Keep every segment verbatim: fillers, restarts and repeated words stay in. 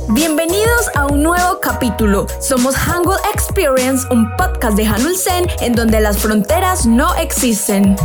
Bienvenidos a un nuevo capítulo. Somos Hangul Experience, un podcast de Hanulsen en donde las fronteras no existen.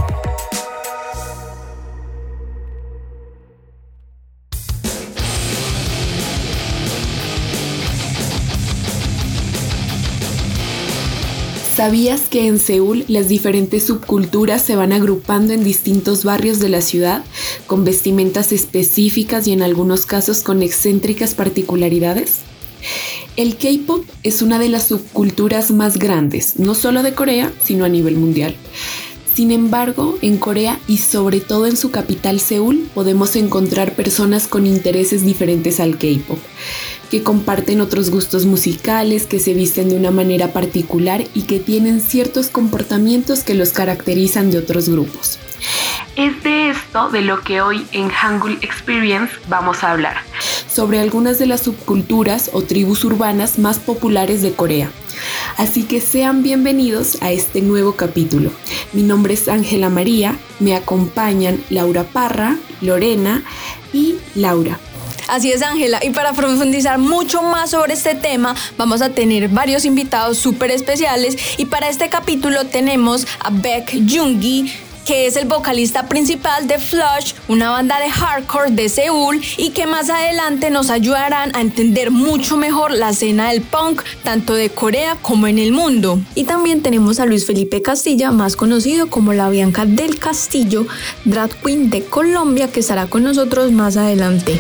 ¿Sabías que en Seúl las diferentes subculturas se van agrupando en distintos barrios de la ciudad, con vestimentas específicas y en algunos casos con excéntricas particularidades? El K-pop es una de las subculturas más grandes, no solo de Corea, sino a nivel mundial. Sin embargo, en Corea y sobre todo en su capital Seúl, podemos encontrar personas con intereses diferentes al K-pop, que comparten otros gustos musicales, que se visten de una manera particular y que tienen ciertos comportamientos que los caracterizan de otros grupos. Es de esto de lo que hoy en Hangul Experience vamos a hablar, sobre algunas de las subculturas o tribus urbanas más populares de Corea. Así que sean bienvenidos a este nuevo capítulo. Mi nombre es Ángela María, me acompañan Laura Parra, Lorena y Laura. Así es, Ángela, y para profundizar mucho más sobre este tema vamos a tener varios invitados súper especiales y para este capítulo tenemos a Baek Jung-gi, que es el vocalista principal de Flush, una banda de hardcore de Seúl y que más adelante nos ayudarán a entender mucho mejor la escena del punk, tanto de Corea como en el mundo. Y también tenemos a Luis Felipe Castilla, más conocido como la Bianca del Castillo, drag queen de Colombia, que estará con nosotros más adelante.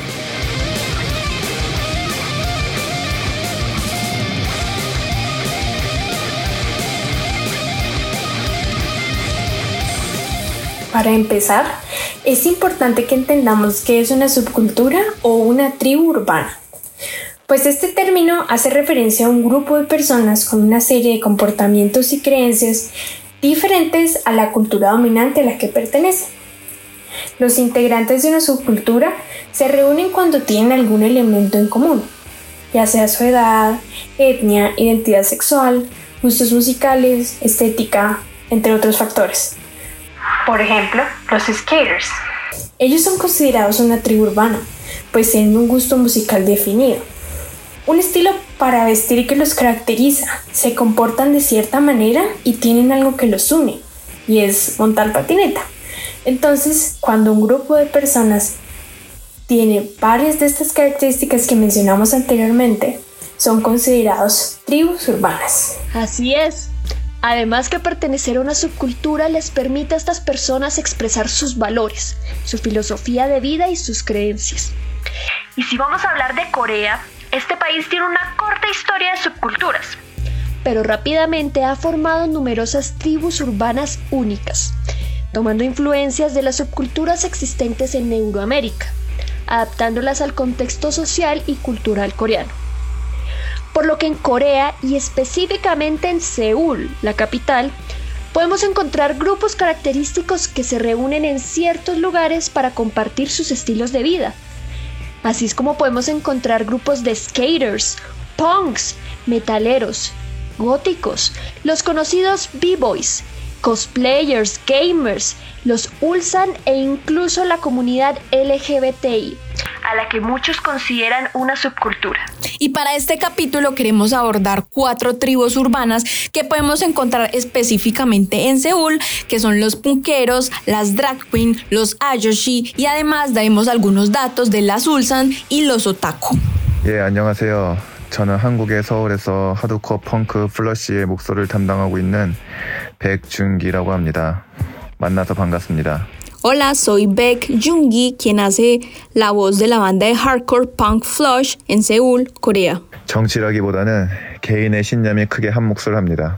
Para empezar, es importante que entendamos qué es una subcultura o una tribu urbana, pues este término hace referencia a un grupo de personas con una serie de comportamientos y creencias diferentes a la cultura dominante a la que pertenecen. Los integrantes de una subcultura se reúnen cuando tienen algún elemento en común, ya sea su edad, etnia, identidad sexual, gustos musicales, estética, entre otros factores. Por ejemplo, los skaters. Ellos son considerados una tribu urbana, pues tienen un gusto musical definido, un estilo para vestir que los caracteriza, se comportan de cierta manera y tienen algo que los une, y es montar patineta. Entonces, cuando un grupo de personas tiene varias de estas características que mencionamos anteriormente, son considerados tribus urbanas. Así es. Además que pertenecer a una subcultura les permite a estas personas expresar sus valores, su filosofía de vida y sus creencias. Y si vamos a hablar de Corea, este país tiene una corta historia de subculturas, pero rápidamente ha formado numerosas tribus urbanas únicas, tomando influencias de las subculturas existentes en Euroamérica, adaptándolas al contexto social y cultural coreano. Por lo que en Corea y específicamente en Seúl, la capital, podemos encontrar grupos característicos que se reúnen en ciertos lugares para compartir sus estilos de vida. Así es como podemos encontrar grupos de skaters, punks, metaleros, góticos, los conocidos b-boys, cosplayers, gamers, los Ulsan e incluso la comunidad L G B T I, a la que muchos consideran una subcultura. Y para este capítulo queremos abordar cuatro tribus urbanas que podemos encontrar específicamente en Seúl, que son los punkeros, las drag queen, los ayoshi y además daremos algunos datos de las Ulsan y los otaku. 예, 안녕하세요. 저는 한국의 서울에서 하드코어 펑크 플러시의 목소리를 담당하고 있는 백준기라고 합니다. 만나서 반갑습니다. Hola, soy Baek Jung-gi, quien hace la voz de la banda de hardcore punk Flush en Seúl, Corea. 정치라기보다는 개인의 신념이 크게 한 몫을 합니다.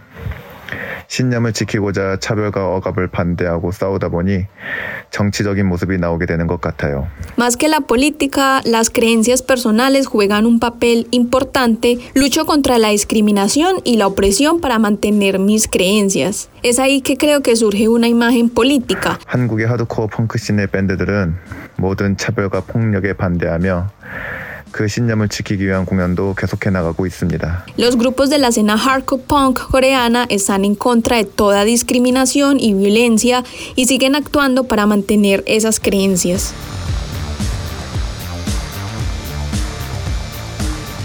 신념을 지키고자 차별과 억압을 반대하고 싸우다 보니 정치적인 모습이 나오게 되는 것 같아요. Más que la política, las creencias personales juegan un papel importante. Lucho contra la discriminación y la opresión para mantener mis creencias. Es ahí que creo que surge una imagen política. 한국의 하드코어 펑크 씬의 밴드들은 모든 차별과 폭력에 반대하며 그 신념을 지키기 위한 공연도 계속해 나가고 있습니다. Los grupos de la escena hardcore punk coreana están en contra de toda discriminación y violencia y siguen actuando para mantener esas creencias.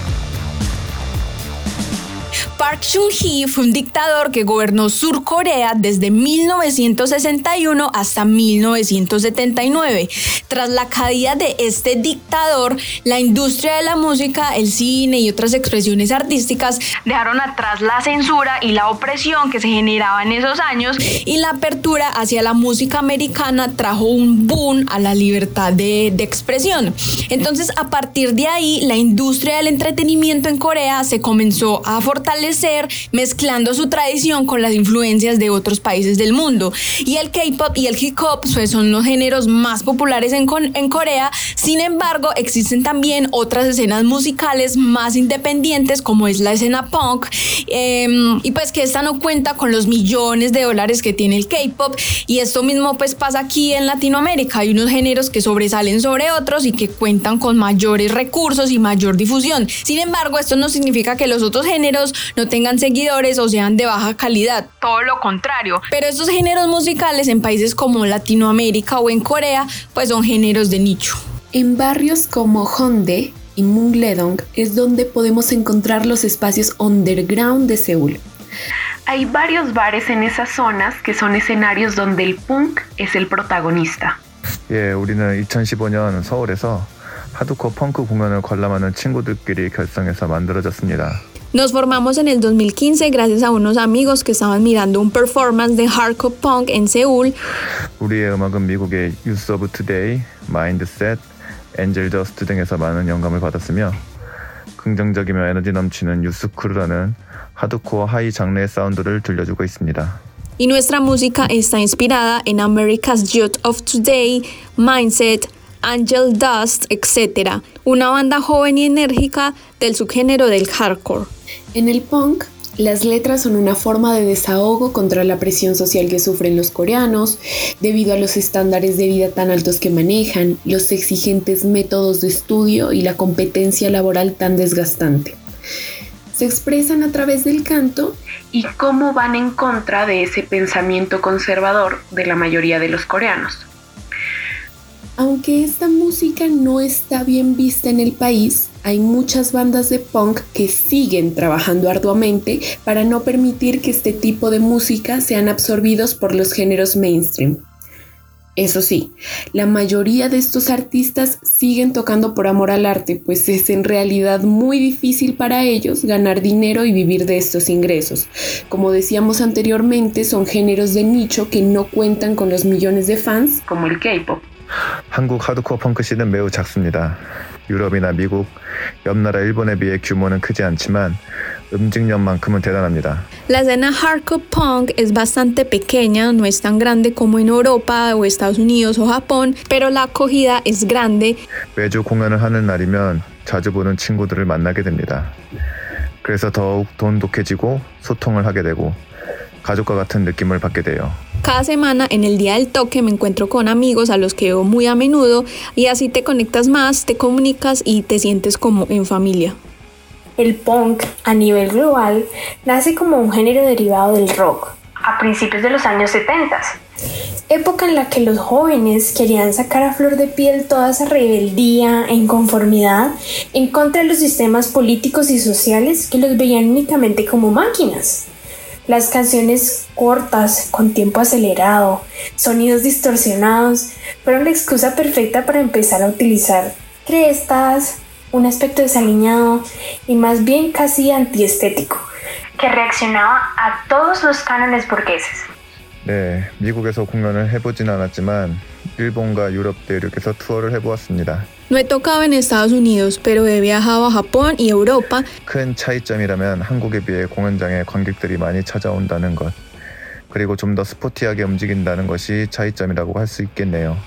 Park Chung-hee fue un dictador que gobernó Sur Corea desde mil novecientos sesenta y uno hasta mil novecientos setenta y nueve. Tras la caída de este dictador, la industria de la música, el cine y otras expresiones artísticas dejaron atrás la censura y la opresión que se generaba en esos años, y la apertura hacia la música americana trajo un boom a la libertad de, de expresión. Entonces, a partir de ahí, la industria del entretenimiento en Corea se comenzó a fortalecer, mezclando su tradición con las influencias de otros países del mundo. Y el K-pop y el hip hop pues, son los géneros más populares en, en Corea. Sin embargo, existen también otras escenas musicales más independientes, como es la escena punk, eh, y pues que esta no cuenta con los millones de dólares que tiene el K-pop. Y esto mismo pues pasa aquí en Latinoamérica. Hay unos géneros que sobresalen sobre otros y que cuentan con mayores recursos y mayor difusión. Sin embargo, esto no significa que los otros géneros no tengan seguidores o sean de baja calidad, todo lo contrario. Pero estos géneros musicales en países como Latinoamérica o en Corea, pues son géneros de nicho. En barrios como Hongdae y Mungledong es donde podemos encontrar los espacios underground de Seúl. Hay varios bares en esas zonas que son escenarios donde el punk es el protagonista. 예, 우리는 이천십오 년 서울에서 하드코어 펑크 공연을 관람하는 친구들끼리 결성해서 만들어졌습니다. Nos formamos en el dos mil quince gracias a unos amigos que estaban mirando un performance de hardcore punk en Seúl. 우리의 음악은 미국의 Youth of Today, Mindset, Angel Dust 등에서 많은 영감을 받았으며 긍정적이며 에너지 넘치는 유스크루라는 하드코어 하이 장르의 사운드를 들려주고 있습니다. Y nuestra música está inspirada en America's Youth of Today, Mindset, Angel Dust, etcétera. Una banda joven y enérgica del subgénero del hardcore. En el punk, las letras son una forma de desahogo contra la presión social que sufren los coreanos, debido a los estándares de vida tan altos que manejan, los exigentes métodos de estudio y la competencia laboral tan desgastante. Se expresan a través del canto y cómo van en contra de ese pensamiento conservador de la mayoría de los coreanos. Aunque esta música no está bien vista en el país, hay muchas bandas de punk que siguen trabajando arduamente para no permitir que este tipo de música sean absorbidos por los géneros mainstream. Eso sí, la mayoría de estos artistas siguen tocando por amor al arte, pues es en realidad muy difícil para ellos ganar dinero y vivir de estos ingresos. Como decíamos anteriormente, son géneros de nicho que no cuentan con los millones de fans como el K-pop. 한국 하드코어 펑크 씬은 매우 작습니다. 유럽이나 미국, 옆나라 일본에 비해 규모는 크지 않지만 음직력만큼은 대단합니다. La escena hardcore punk es bastante pequeña, no es tan grande como en Europa o Estados Unidos o Japón, pero la acogida es grande. 매주 공연을 하는 날이면 자주 보는 친구들을 만나게 됩니다. 그래서 더욱 돈독해지고 소통을 하게 되고 가족과 같은 느낌을 받게 돼요. Cada semana en el día del toque me encuentro con amigos a los que veo muy a menudo y así te conectas más, te comunicas y te sientes como en familia. El punk a nivel global nace como un género derivado del rock a principios de los años setenta, época en la que los jóvenes querían sacar a flor de piel toda esa rebeldía e inconformidad en contra de los sistemas políticos y sociales que los veían únicamente como máquinas. Las canciones cortas, con tiempo acelerado, sonidos distorsionados, fueron la excusa perfecta para empezar a utilizar crestas, un aspecto desaliñado y más bien casi antiestético, que reaccionaba a todos los cánones burgueses. 네, 미국에서 공연을 해보진 않았지만 일본과 유럽 대륙에서 투어를 해보았습니다. No he tocado en Estados Unidos, pero he viajado a Japón y Europa. 큰 차이점이라면 한국에 비해 공연장에 관객들이 많이 찾아온다는 것, 그리고 좀 더 스포티하게 움직인다는 것이 차이점이라고 할 수 있겠네요.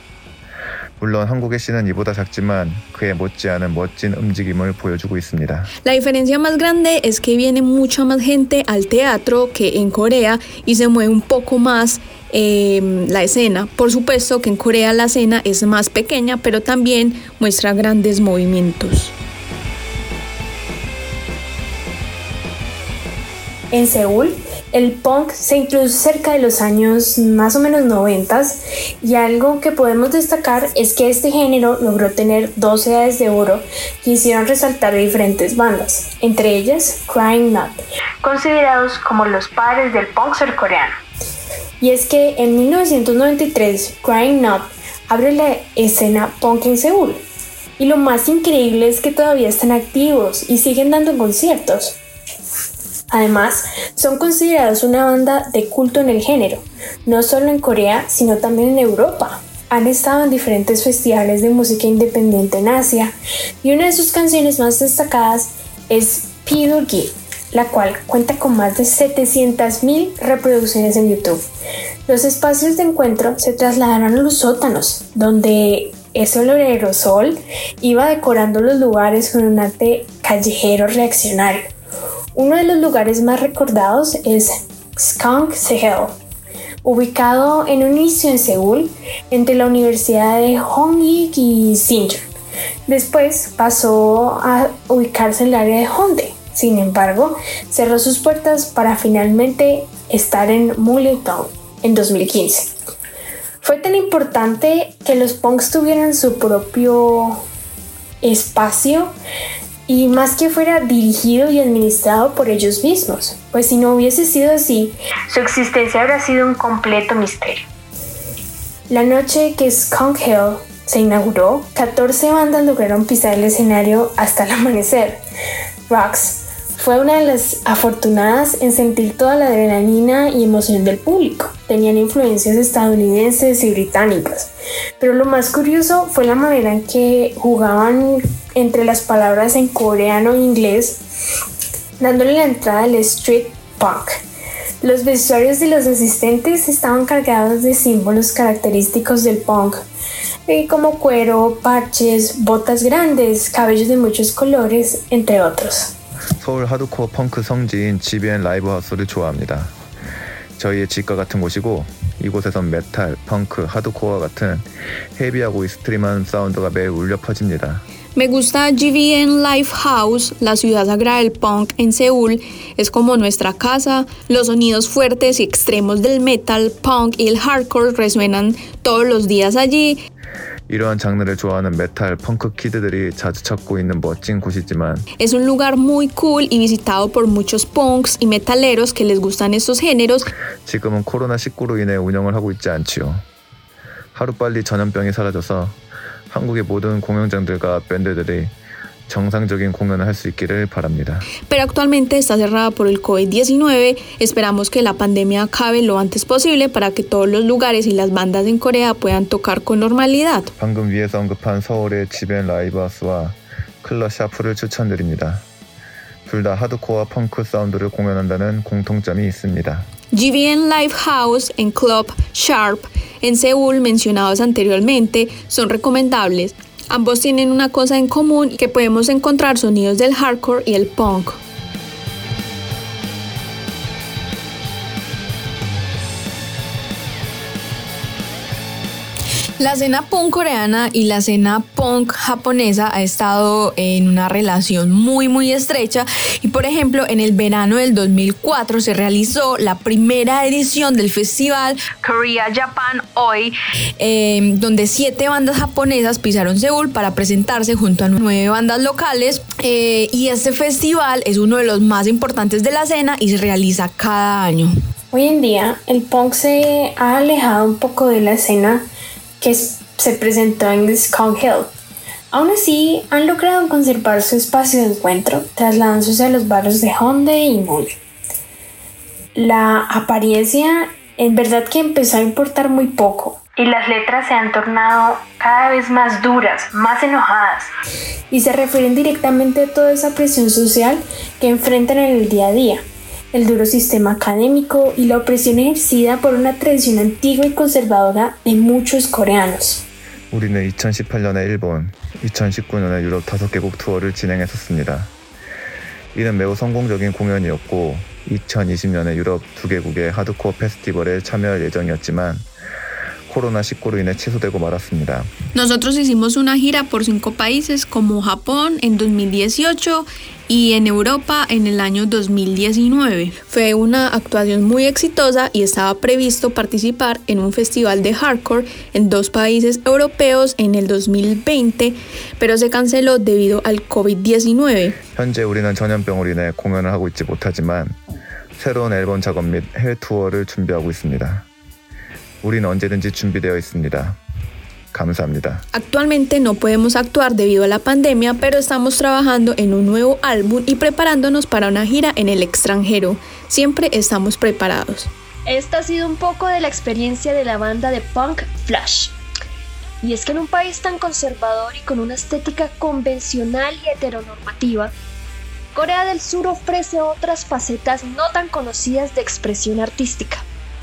물론 한국의 씬은 이보다 작지만 그에 못지않은 멋진 움직임을 보여주고 있습니다. La diferencia más grande es que viene mucha más gente al teatro que en Corea y se mueve un poco más eh, la escena. Por supuesto que en Corea la escena es más pequeña, pero también muestra grandes movimientos. En Seúl, El punk se introdujo cerca de los años más o menos noventas y algo que podemos destacar es que este género logró tener dos edades de oro que hicieron resaltar a diferentes bandas, entre ellas Crying Nut, considerados como los padres del punk surcoreano. Y es que en mil novecientos noventa y tres Crying Nut abre la escena punk en Seúl. Y lo más increíble es que todavía están activos y siguen dando conciertos. Además, son considerados una banda de culto en el género, no solo en Corea, sino también en Europa. Han estado en diferentes festivales de música independiente en Asia y una de sus canciones más destacadas es P-Doogie, la cual cuenta con más de setecientas mil reproducciones en YouTube. Los espacios de encuentro se trasladaron a los sótanos, donde ese olor a aerosol iba decorando los lugares con un arte callejero reaccionario. Uno de los lugares más recordados es Skunk Sehel, ubicado en un inicio en Seúl, entre la Universidad de Hongik y Sinchon. Después pasó a ubicarse en el área de Hongdae. Sin embargo, cerró sus puertas para finalmente estar en Mullington en dos mil quince. Fue tan importante que los punks tuvieran su propio espacio y más que fuera dirigido y administrado por ellos mismos, pues si no hubiese sido así, su existencia habría sido un completo misterio. La noche que Skunk Hill se inauguró, catorce bandas lograron pisar el escenario hasta el amanecer. Rox fue una de las afortunadas en sentir toda la adrenalina y emoción del público. Tenían influencias estadounidenses y británicas, pero lo más curioso fue la manera en que jugaban entre las palabras en coreano e inglés, dándole la entrada al street punk. Los vestuarios de los asistentes estaban cargados de símbolos característicos del punk, como cuero, parches, botas grandes, cabellos de muchos colores, entre otros. 서울 하드코어 펑크 성지인 지비엔 라이브 하우스를 좋아합니다. 저희의 집과 같은 곳이고 이곳에선 메탈, 펑크, 하드코어와 같은 헤비하고 익스트림한 사운드가 매일 울려 퍼집니다. Me gusta G V N Live House, la ciudad sagrada del punk en Seúl. Es como nuestra casa. Los sonidos fuertes y extremos del metal, punk y el hardcore resuenan todos los días allí. 이러한 장르를 좋아하는 메탈, 펑크 키드들이 자주 찾고 있는 멋진 곳이지만 Es un lugar muy cool y visitado por muchos punks y metaleros que les gustan estos géneros. 지금은 코로나 십구로 인해 운영을 하고 있지 않지요. 하루빨리 전염병이 사라져서 한국의 모든 공연장들과 밴드들이 정상적인 공연을 할 수 있기를 바랍니다. Pero actualmente está cerrada por el COVID diecinueve. Esperamos que la pandemia acabe lo antes posible para que todos los lugares y las bandas en Corea puedan tocar con normalidad. 방금 위에서 언급한 서울의 지벤 라이브하우스와 클럽 샤프를 추천드립니다. 둘 다 하드코어 펑크 사운드를 공연한다는 공통점이 있습니다. G V N Live House en Club Sharp en Seúl, mencionados anteriormente, son recomendables. Ambos tienen una cosa en común, que podemos encontrar sonidos del hardcore y el punk. La escena punk coreana y la escena punk japonesa ha estado en una relación muy muy estrecha y por ejemplo en el verano del dos mil cuatro se realizó la primera edición del festival Korea Japan Hoy, eh, donde siete bandas japonesas pisaron Seúl para presentarse junto a nueve bandas locales, eh, y este festival es uno de los más importantes de la escena y se realiza cada año. Hoy en día el punk se ha alejado un poco de la escena que se presentó en Skunk Hill. Aún así, han logrado conservar su espacio de encuentro, trasladándose a los barrios de Hongdae y Mall. La apariencia en verdad que empezó a importar muy poco, y las letras se han tornado cada vez más duras, más enojadas, y se refieren directamente a toda esa presión social que enfrentan en el día a día. El duro sistema académico y la opresión ejercida por una tradición antigua y conservadora de muchos coreanos. 우리는 이천십팔 년에 일본, 이천십구 년에 유럽 다섯 개국 투어를 진행했었습니다. 이는 매우 성공적인 공연이었고 이천이십 년에 유럽 두 개국의 하드코어 페스티벌에 참여할 예정이었지만 코로나 십구로 인해 취소되고 말았습니다. Nosotros hicimos una gira por cinco países como Japón en dos mil dieciocho y en Europa en el año dos mil diecinueve. Fue una actuación muy exitosa y estaba previsto participar en un festival de hardcore en dos países europeos en el dos mil veinte, pero se canceló debido al covid diecinueve. 현재 우리는 전염병으로 인해 공연을 하고 있지 못하지만 새로운 앨범 작업 및 해외 투어를 준비하고 있습니다. 우리는 언제든지 준비되어 있습니다. 감사합니다. Actualmente no podemos actuar debido a la pandemia, pero estamos trabajando en un nuevo álbum y preparándonos para una gira en el extranjero. Siempre estamos preparados. Esta ha sido un poco de la experiencia de la banda de punk Flash. Y es que en un país tan conservador y con una estética convencional y heteronormativa, Corea del Sur ofrece otras facetas no tan conocidas de expresión artística.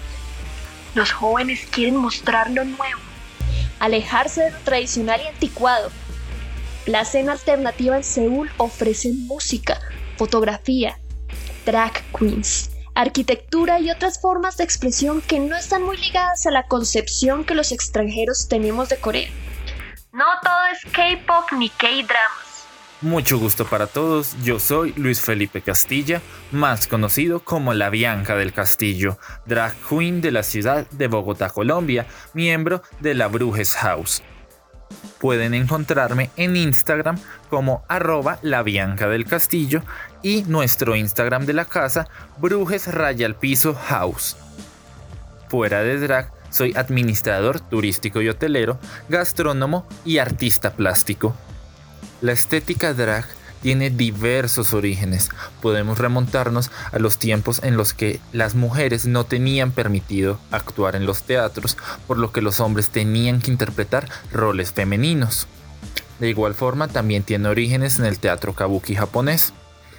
Los jóvenes quieren mostrar lo nuevo, alejarse de lo tradicional y anticuado. La escena alternativa en Seúl ofrece música, fotografía, drag queens, arquitectura y otras formas de expresión que no están muy ligadas a la concepción que los extranjeros tenemos de Corea. No todo es K-pop ni K-dramas. Mucho gusto para todos, yo soy Luis Felipe Castilla, más conocido como La Bianca del Castillo, drag queen de la ciudad de Bogotá, Colombia, miembro de la Brujes House. Pueden encontrarme en Instagram como arroba La Bianca del Castillo y nuestro Instagram de la casa, Brujes Raya al Piso House. Fuera de drag, soy administrador turístico y hotelero, gastrónomo y artista plástico. La estética drag tiene diversos orígenes. Podemos remontarnos a los tiempos en los que las mujeres no tenían permitido actuar en los teatros, por lo que los hombres tenían que interpretar roles femeninos. De igual forma, también tiene orígenes en el teatro kabuki japonés.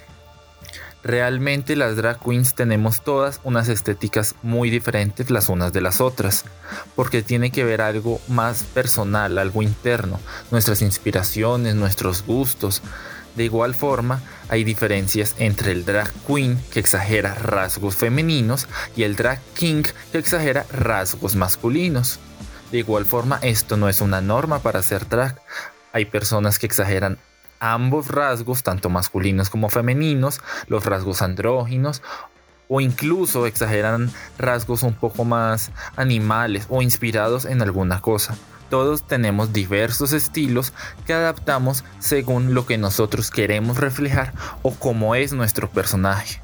Realmente las drag queens tenemos todas unas estéticas muy diferentes las unas de las otras, porque tiene que ver algo más personal, algo interno, nuestras inspiraciones, nuestros gustos. De igual forma, hay diferencias entre el drag queen, que exagera rasgos femeninos, y el drag king, que exagera rasgos masculinos. De igual forma, esto no es una norma para hacer drag. Hay personas que exageran ambos rasgos, tanto masculinos como femeninos, los rasgos andróginos, o incluso exageran rasgos un poco más animales o inspirados en alguna cosa. Todos tenemos diversos estilos que adaptamos según lo que nosotros queremos reflejar o cómo es nuestro personaje.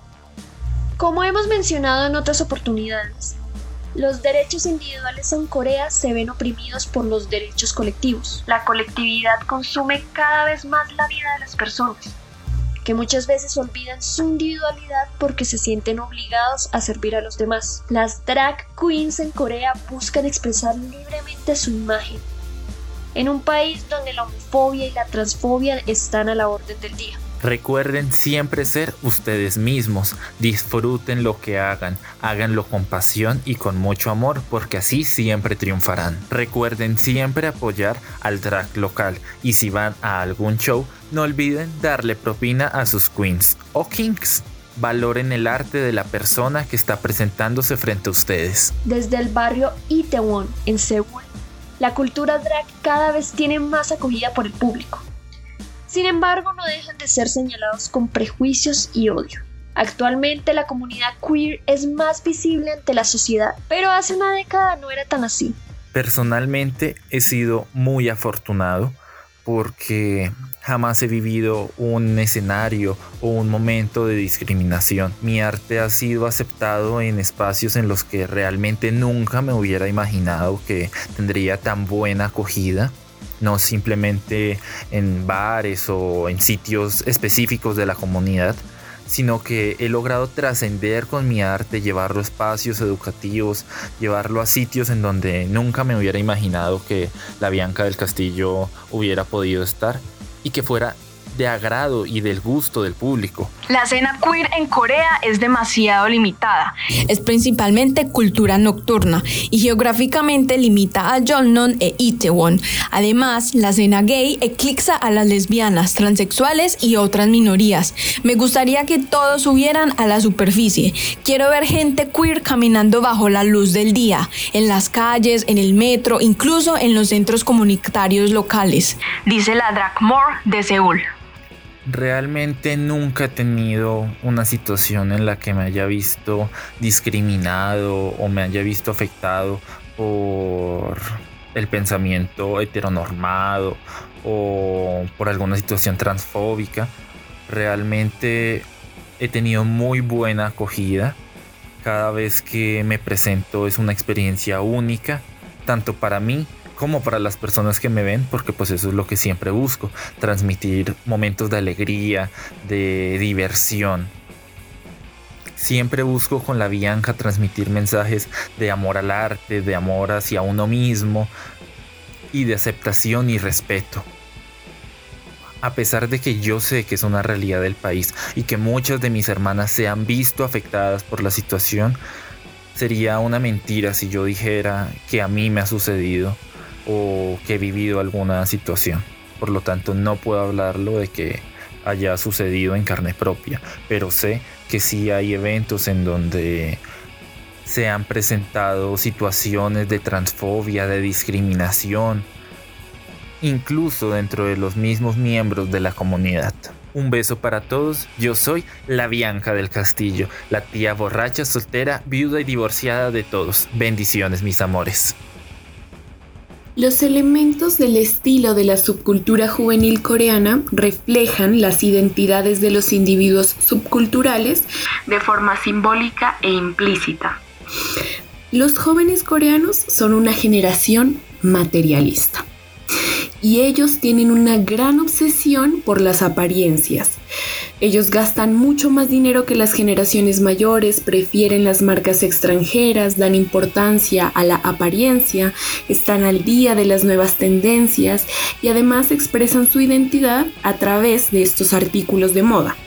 Como hemos mencionado en otras oportunidades, los derechos individuales en Corea se ven oprimidos por los derechos colectivos. La colectividad consume cada vez más la vida de las personas, que muchas veces olvidan su individualidad porque se sienten obligados a servir a los demás. Las drag queens en Corea buscan expresar libremente su imagen, en un país donde la homofobia y la transfobia están a la orden del día. Recuerden siempre ser ustedes mismos, disfruten lo que hagan, háganlo con pasión y con mucho amor, porque así siempre triunfarán. Recuerden siempre apoyar al drag local y si van a algún show, no olviden darle propina a sus queens o kings. Valoren el arte de la persona que está presentándose frente a ustedes. Desde el barrio Itaewon, en Seúl, la cultura drag cada vez tiene más acogida por el público. Sin embargo, no dejan de ser señalados con prejuicios y odio. Actualmente la comunidad queer es más visible ante la sociedad, pero hace una década no era tan así. Personalmente he sido muy afortunado porque jamás he vivido un escenario o un momento de discriminación. Mi arte ha sido aceptado en espacios en los que realmente nunca me hubiera imaginado que tendría tan buena acogida. No simplemente en bares o en sitios específicos de la comunidad, sino que he logrado trascender con mi arte, llevarlo a espacios educativos, llevarlo a sitios en donde nunca me hubiera imaginado que la Bianca del Castillo hubiera podido estar y que fuera de agrado y del gusto del público. La escena queer en Corea es demasiado limitada. Es principalmente cultura nocturna y geográficamente limita a Jeongnam e Itaewon. Además, la escena gay eclipsa a las lesbianas, transexuales y otras minorías. Me gustaría que todos subieran a la superficie. Quiero ver gente queer caminando bajo la luz del día, en las calles, en el metro, incluso en los centros comunitarios locales, dice la Drag More de Seúl. Realmente nunca he tenido una situación en la que me haya visto discriminado o me haya visto afectado por el pensamiento heteronormado o por alguna situación transfóbica. Realmente he tenido muy buena acogida. Cada vez que me presento es una experiencia única, tanto para mí como para las personas que me ven, porque pues eso es lo que siempre busco, transmitir momentos de alegría, de diversión. Siempre busco con la Bianca transmitir mensajes de amor al arte, de amor hacia uno mismo y de aceptación y respeto. A pesar de que yo sé que es una realidad del país y que muchas de mis hermanas se han visto afectadas por la situación, sería una mentira si yo dijera que a mí me ha sucedido o que he vivido alguna situación. Por lo tanto, no puedo hablarlo de que haya sucedido en carne propia, pero sé que sí hay eventos en donde se han presentado situaciones de transfobia, de discriminación, incluso dentro de los mismos miembros de la comunidad. Un beso para todos. Yo soy la Bianca del Castillo, la tía borracha, soltera, viuda y divorciada de todos. Bendiciones, mis amores. Los elementos del estilo de la subcultura juvenil coreana reflejan las identidades de los individuos subculturales de forma simbólica e implícita. Los jóvenes coreanos son una generación materialista y ellos tienen una gran obsesión por las apariencias. Ellos gastan mucho más dinero que las generaciones mayores, prefieren las marcas extranjeras, dan importancia a la apariencia, están al día de las nuevas tendencias y además expresan su identidad a través de estos artículos de moda.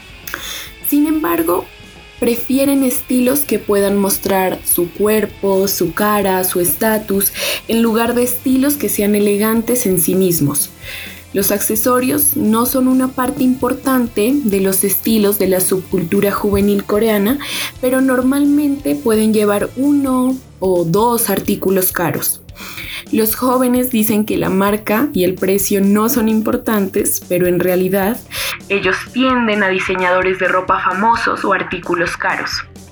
Sin embargo, prefieren estilos que puedan mostrar su cuerpo, su cara, su estatus, en lugar de estilos que sean elegantes en sí mismos. Los accesorios no son una parte importante de los estilos de la subcultura juvenil coreana, pero normalmente pueden llevar uno o dos artículos caros. Los jóvenes dicen que la marca y el precio no son importantes, pero en realidad ellos tienden a diseñadores de ropa famosos o artículos caros.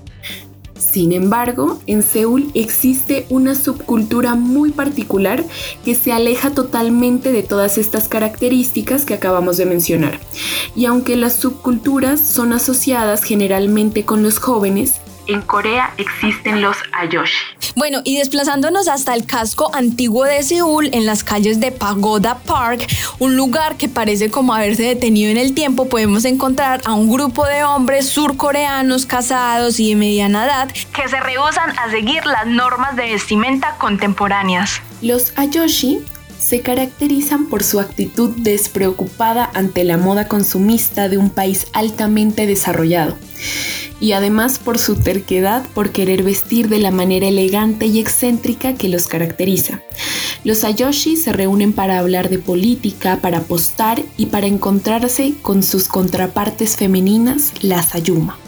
Sin embargo, en Seúl existe una subcultura muy particular que se aleja totalmente de todas estas características que acabamos de mencionar. Y aunque las subculturas son asociadas generalmente con los jóvenes, en Corea existen los ayoshi. Bueno, y desplazándonos hasta el casco antiguo de Seúl, en las calles de Pagoda Park, un lugar que parece como haberse detenido en el tiempo, podemos encontrar a un grupo de hombres surcoreanos casados y de mediana edad que se rehúsan a seguir las normas de vestimenta contemporáneas. Los ayoshi se caracterizan por su actitud despreocupada ante la moda consumista de un país altamente desarrollado y además por su terquedad por querer vestir de la manera elegante y excéntrica que los caracteriza. Los ayoshi se reúnen para hablar de política, para apostar y para encontrarse con sus contrapartes femeninas, las ayuma.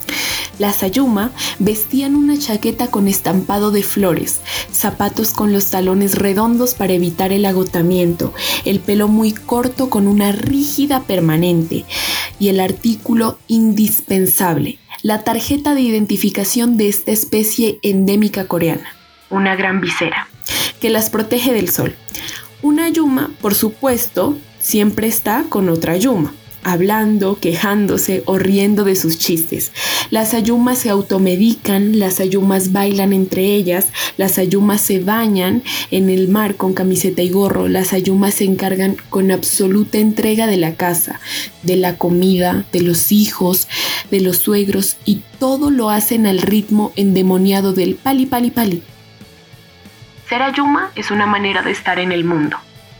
Las ayuma vestían una chaqueta con estampado de flores, zapatos con los talones redondos para evitar el agotamiento, el pelo muy corto con una rígida permanente y el artículo indispensable, la tarjeta de identificación de esta especie endémica coreana, una gran visera, que las protege del sol. Una ayuma, por supuesto, siempre está con otra ayuma, hablando, quejándose o riendo de sus chistes. Las ayumas se automedican, las ayumas bailan entre ellas, las ayumas se bañan en el mar con camiseta y gorro, las ayumas se encargan con absoluta entrega de la casa, de la comida, de los hijos, de los suegros y todo lo hacen al ritmo endemoniado del pali pali pali. Ser ayuma es una manera de estar en el mundo.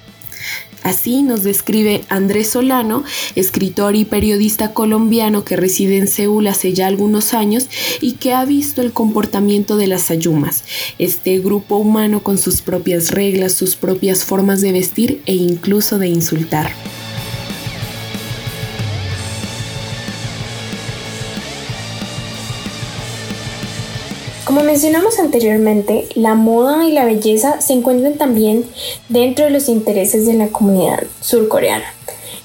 Así nos describe Andrés Solano, escritor y periodista colombiano que reside en Seúl hace ya algunos años y que ha visto el comportamiento de las ayumas, este grupo humano con sus propias reglas, sus propias formas de vestir e incluso de insultar. Como mencionamos anteriormente, la moda y la belleza se encuentran también dentro de los intereses de la comunidad surcoreana.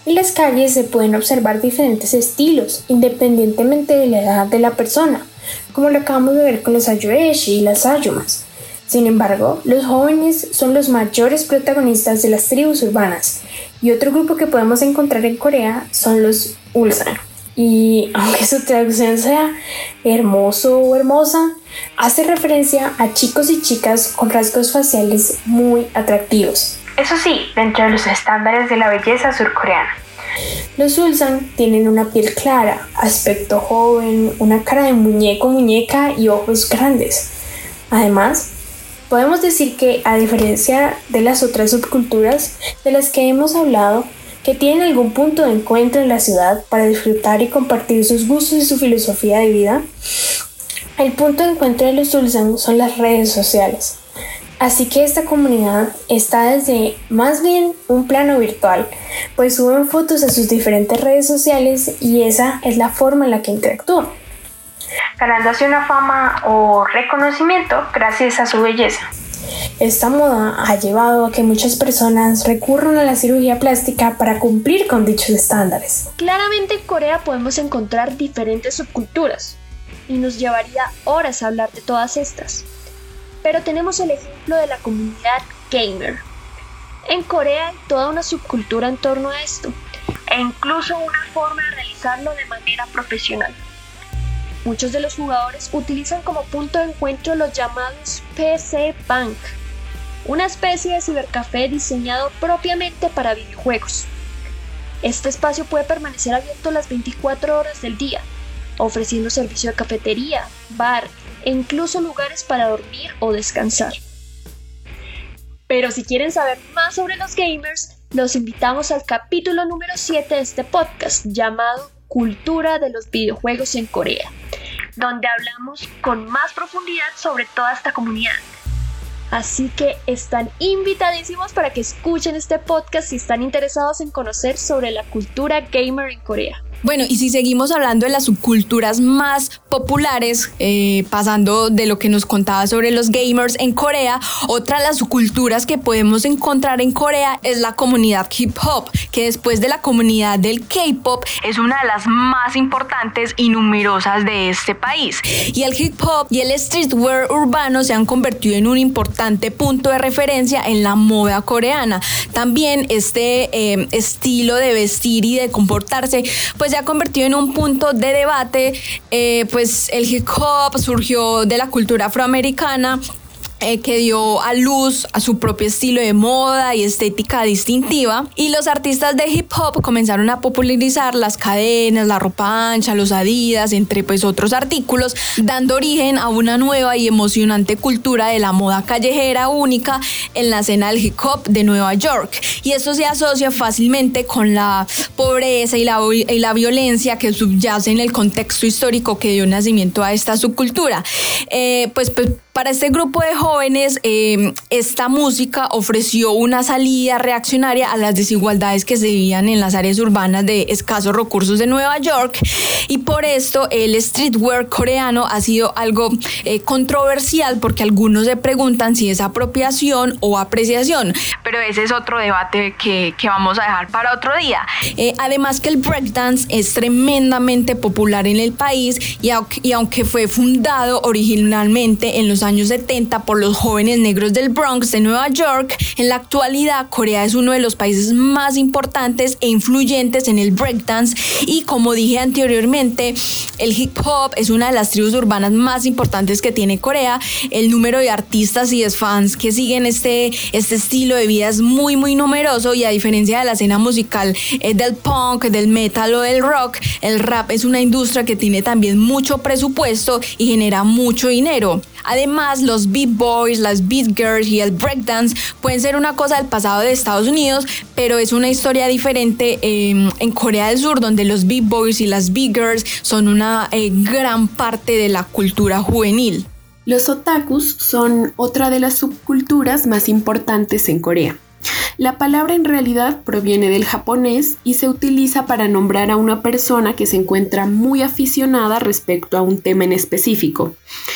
En las calles se pueden observar diferentes estilos, independientemente de la edad de la persona, como lo acabamos de ver con los Ayoeshi y las Ayumas. Sin embargo, los jóvenes son los mayores protagonistas de las tribus urbanas, y otro grupo que podemos encontrar en Corea son los Ulsan. Y aunque su traducción sea hermoso o hermosa, hace referencia a chicos y chicas con rasgos faciales muy atractivos. Eso sí, dentro de los estándares de la belleza surcoreana. Los Ulsan tienen una piel clara, aspecto joven, una cara de muñeco muñeca y ojos grandes. Además, podemos decir que, a diferencia de las otras subculturas de las que hemos hablado, que tienen algún punto de encuentro en la ciudad para disfrutar y compartir sus gustos y su filosofía de vida, el punto de encuentro de los Ulsan son las redes sociales. Así que esta comunidad está desde más bien un plano virtual, pues suben fotos a sus diferentes redes sociales y esa es la forma en la que interactúan, ganándose una fama o reconocimiento gracias a su belleza. Esta moda ha llevado a que muchas personas recurran a la cirugía plástica para cumplir con dichos estándares. Claramente en Corea podemos encontrar diferentes subculturas y nos llevaría horas a hablar de todas estas. Pero tenemos el ejemplo de la comunidad gamer. En Corea hay toda una subcultura en torno a esto, e incluso una forma de realizarlo de manera profesional. Muchos de los jugadores utilizan como punto de encuentro los llamados P C Bank, una especie de cibercafé diseñado propiamente para videojuegos. Este espacio puede permanecer abierto las veinticuatro horas del día, ofreciendo servicio de cafetería, bar e incluso lugares para dormir o descansar. Pero si quieren saber más sobre los gamers, los invitamos al capítulo número siete de este podcast llamado Cultura de los videojuegos en Corea, donde hablamos con más profundidad sobre toda esta comunidad. Así que están invitadísimos para que escuchen este podcast si están interesados en conocer sobre la cultura gamer en Corea. Bueno, y si seguimos hablando de las subculturas más populares, eh, pasando de lo que nos contaba sobre los gamers en Corea, otra de las subculturas que podemos encontrar en Corea es la comunidad hip hop, que después de la comunidad del K-pop es una de las más importantes y numerosas de este país. Y el hip hop y el streetwear urbano se han convertido en un importante punto de referencia en la moda coreana. También este eh, estilo de vestir y de comportarse pues se ha convertido en un punto de debate. Eh, pues el hip hop surgió de la cultura afroamericana, Eh, que dio a luz a su propio estilo de moda y estética distintiva, y los artistas de hip hop comenzaron a popularizar las cadenas, la ropa ancha, los Adidas, entre pues otros artículos, dando origen a una nueva y emocionante cultura de la moda callejera única en la escena del hip hop de Nueva York, y esto se asocia fácilmente con la pobreza y la, y la violencia que subyace en el contexto histórico que dio nacimiento a esta subcultura. Eh, pues, pues Para este grupo de jóvenes, eh, esta música ofreció una salida reaccionaria a las desigualdades que se vivían en las áreas urbanas de escasos recursos de Nueva York, y por esto el streetwear coreano ha sido algo eh, controversial, porque algunos se preguntan si es apropiación o apreciación, pero ese es otro debate que, que vamos a dejar para otro día. Eh, además que el breakdance es tremendamente popular en el país, y aunque, y aunque fue fundado originalmente en los años setenta por los jóvenes negros del Bronx de Nueva York, en la actualidad Corea es uno de los países más importantes e influyentes en el breakdance, y como dije anteriormente, el hip hop es una de las tribus urbanas más importantes que tiene Corea. El número de artistas y de fans que siguen este, este estilo de vida es muy muy numeroso, y a diferencia de la escena musical eh, del punk, del metal o del rock, el rap es una industria que tiene también mucho presupuesto y genera mucho dinero. Además, los beat boys, las beat girls y el breakdance pueden ser una cosa del pasado de Estados Unidos, pero es una historia diferente eh, en Corea del Sur, donde los beat boys y las beat girls son una eh, gran parte de la cultura juvenil. Los otakus son otra de las subculturas más importantes en Corea. La palabra en realidad proviene del japonés y se utiliza para nombrar a una persona que se encuentra muy aficionada respecto a un tema en específico.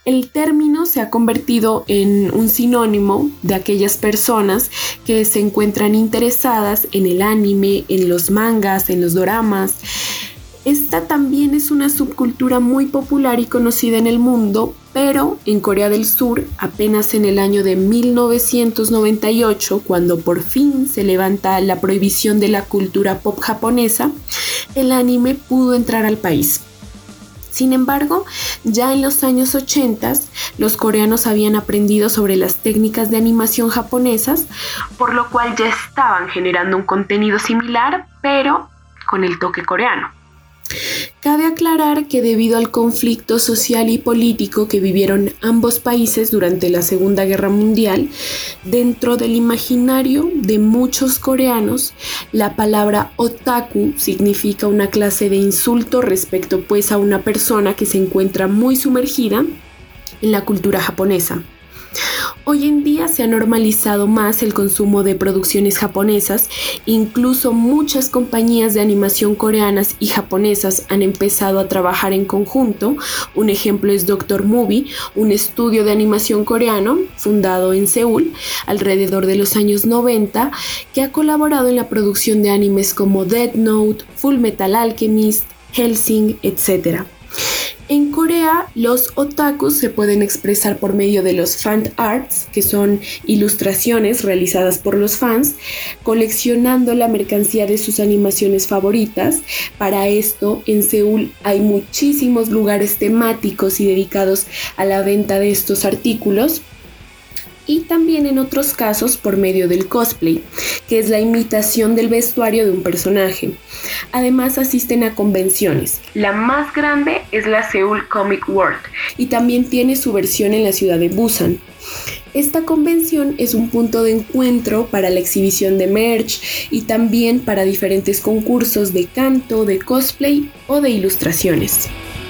El término se ha convertido en un sinónimo de aquellas personas que se encuentran interesadas en el anime, en los mangas, en los doramas. Esta también es una subcultura muy popular y conocida en el mundo, pero en Corea del Sur, apenas en el año de mil novecientos noventa y ocho, cuando por fin se levanta la prohibición de la cultura pop japonesa, el anime pudo entrar al país. Sin embargo, ya en los años ochenta, los coreanos habían aprendido sobre las técnicas de animación japonesas, por lo cual ya estaban generando un contenido similar, pero con el toque coreano. Cabe aclarar que debido al conflicto social y político que vivieron ambos países durante la Segunda Guerra Mundial, dentro del imaginario de muchos coreanos, la palabra otaku significa una clase de insulto respecto pues a una persona que se encuentra muy sumergida en la cultura japonesa. Hoy en día se ha normalizado más el consumo de producciones japonesas, incluso muchas compañías de animación coreanas y japonesas han empezado a trabajar en conjunto. Un ejemplo es Doctor Movie, un estudio de animación coreano fundado en Seúl alrededor de los años noventa, que ha colaborado en la producción de animes como Death Note, Full Metal Alchemist, Hellsing, etcétera. En Corea, los otakus se pueden expresar por medio de los fan arts, que son ilustraciones realizadas por los fans, coleccionando la mercancía de sus animaciones favoritas. Para esto, en Seúl hay muchísimos lugares temáticos y dedicados a la venta de estos artículos. Y también en otros casos por medio del cosplay, que es la imitación del vestuario de un personaje. Además asisten a convenciones. La más grande es la Seoul Comic World y también tiene su versión en la ciudad de Busan. Esta convención es un punto de encuentro para la exhibición de merch y también para diferentes concursos de canto, de cosplay o de ilustraciones.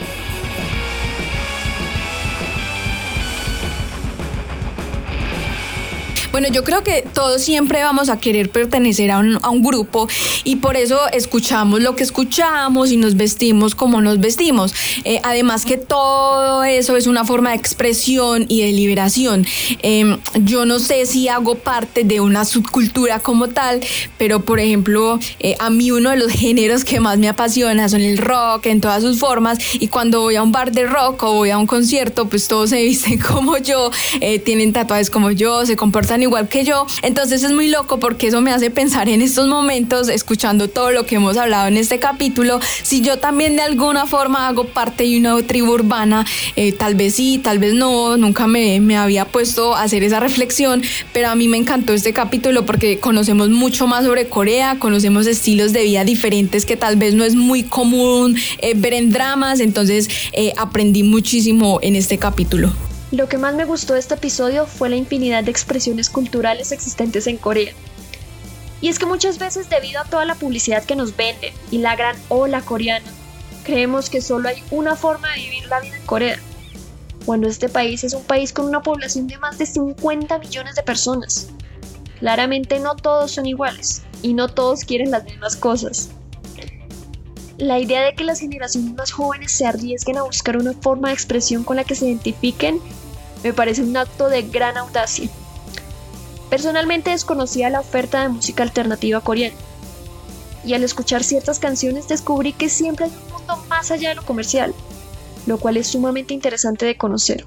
Bueno, yo creo que todos siempre vamos a querer pertenecer a un, a un grupo y por eso escuchamos lo que escuchamos y nos vestimos como nos vestimos. Eh, además que todo eso es una forma de expresión y de liberación. Eh, yo no sé si hago parte de una subcultura como tal, pero por ejemplo, eh, a mí uno de los géneros que más me apasiona son el rock en todas sus formas, y cuando voy a un bar de rock o voy a un concierto, pues todos se visten como yo, eh, tienen tatuajes como yo, se comportan igual que yo. Entonces es muy loco porque eso me hace pensar en estos momentos, escuchando todo lo que hemos hablado en este capítulo, si yo también de alguna forma hago parte de una tribu urbana. Eh, tal vez sí, tal vez no, nunca me, me había puesto a hacer esa reflexión, pero a mí me encantó este capítulo porque conocemos mucho más sobre Corea, conocemos estilos de vida diferentes que tal vez no es muy común eh, ver en dramas. Entonces eh, aprendí muchísimo en este capítulo. Lo que más me gustó de este episodio fue la infinidad de expresiones culturales existentes en Corea. Y es que muchas veces, debido a toda la publicidad que nos venden y la gran ola coreana, creemos que solo hay una forma de vivir la vida en Corea, cuando este país es un país con una población de más de cincuenta millones de personas. Claramente no todos son iguales y no todos quieren las mismas cosas. La idea de que las generaciones más jóvenes se arriesguen a buscar una forma de expresión con la que se identifiquen me parece un acto de gran audacia. Personalmente desconocía la oferta de música alternativa coreana, y al escuchar ciertas canciones descubrí que siempre hay un mundo más allá de lo comercial, lo cual es sumamente interesante de conocer.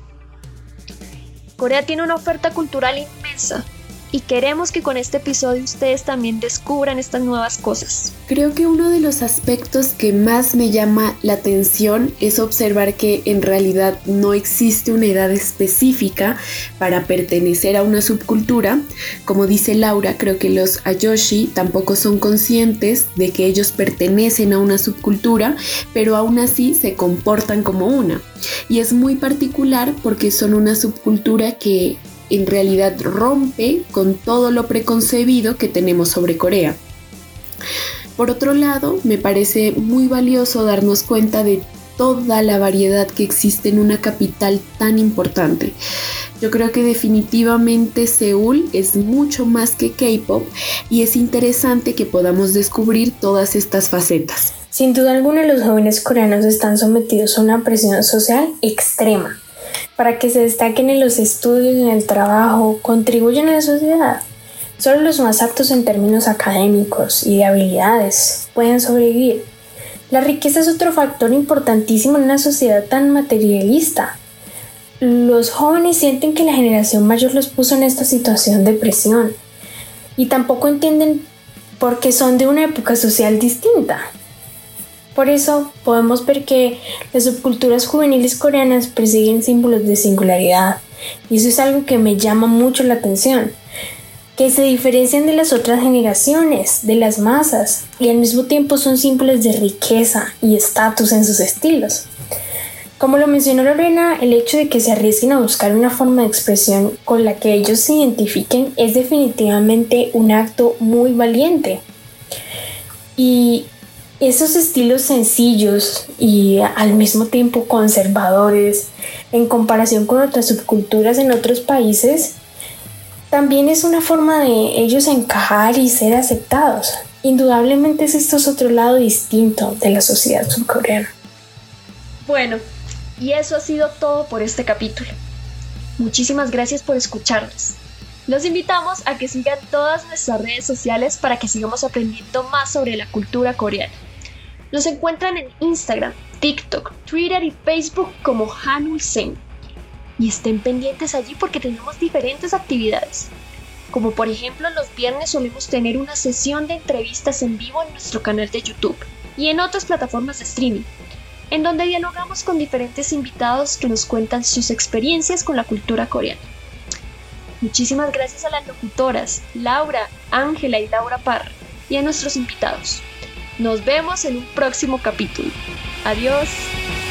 Corea tiene una oferta cultural inmensa, y queremos que con este episodio ustedes también descubran estas nuevas cosas. Creo que uno de los aspectos que más me llama la atención es observar que en realidad no existe una edad específica para pertenecer a una subcultura. Como dice Laura, creo que los Ayoshi tampoco son conscientes de que ellos pertenecen a una subcultura, pero aún así se comportan como una. Y es muy particular porque son una subcultura que en realidad rompe con todo lo preconcebido que tenemos sobre Corea. Por otro lado, me parece muy valioso darnos cuenta de toda la variedad que existe en una capital tan importante. Yo creo que definitivamente Seúl es mucho más que K-pop y es interesante que podamos descubrir todas estas facetas. Sin duda alguna, los jóvenes coreanos están sometidos a una presión social extrema. para que se destaquen en los estudios, en el trabajo, contribuyen a la sociedad. Solo los más aptos en términos académicos y de habilidades pueden sobrevivir. La riqueza es otro factor importantísimo en una sociedad tan materialista. Los jóvenes sienten que la generación mayor los puso en esta situación de presión y tampoco entienden por qué son de una época social distinta. Por eso podemos ver que las subculturas juveniles coreanas persiguen símbolos de singularidad, y eso es algo que me llama mucho la atención, que se diferencian de las otras generaciones, de las masas, y al mismo tiempo son símbolos de riqueza y estatus en sus estilos. Como lo mencionó Lorena, el hecho de que se arriesguen a buscar una forma de expresión con la que ellos se identifiquen es definitivamente un acto muy valiente. Y esos estilos sencillos y al mismo tiempo conservadores en comparación con otras subculturas en otros países, también es una forma de ellos encajar y ser aceptados. Indudablemente esto es otro lado distinto de la sociedad surcoreana. Bueno, y eso ha sido todo por este capítulo. Muchísimas gracias por escucharnos. Los invitamos a que sigan todas nuestras redes sociales para que sigamos aprendiendo más sobre la cultura coreana. Nos encuentran en Instagram, TikTok, Twitter y Facebook como Hanulsen. Y estén pendientes allí porque tenemos diferentes actividades. Como por ejemplo, los viernes solemos tener una sesión de entrevistas en vivo en nuestro canal de YouTube y en otras plataformas de streaming, en donde dialogamos con diferentes invitados que nos cuentan sus experiencias con la cultura coreana. Muchísimas gracias a las locutoras Laura, Ángela y Laura Parra y a nuestros invitados. Nos vemos en un próximo capítulo. Adiós.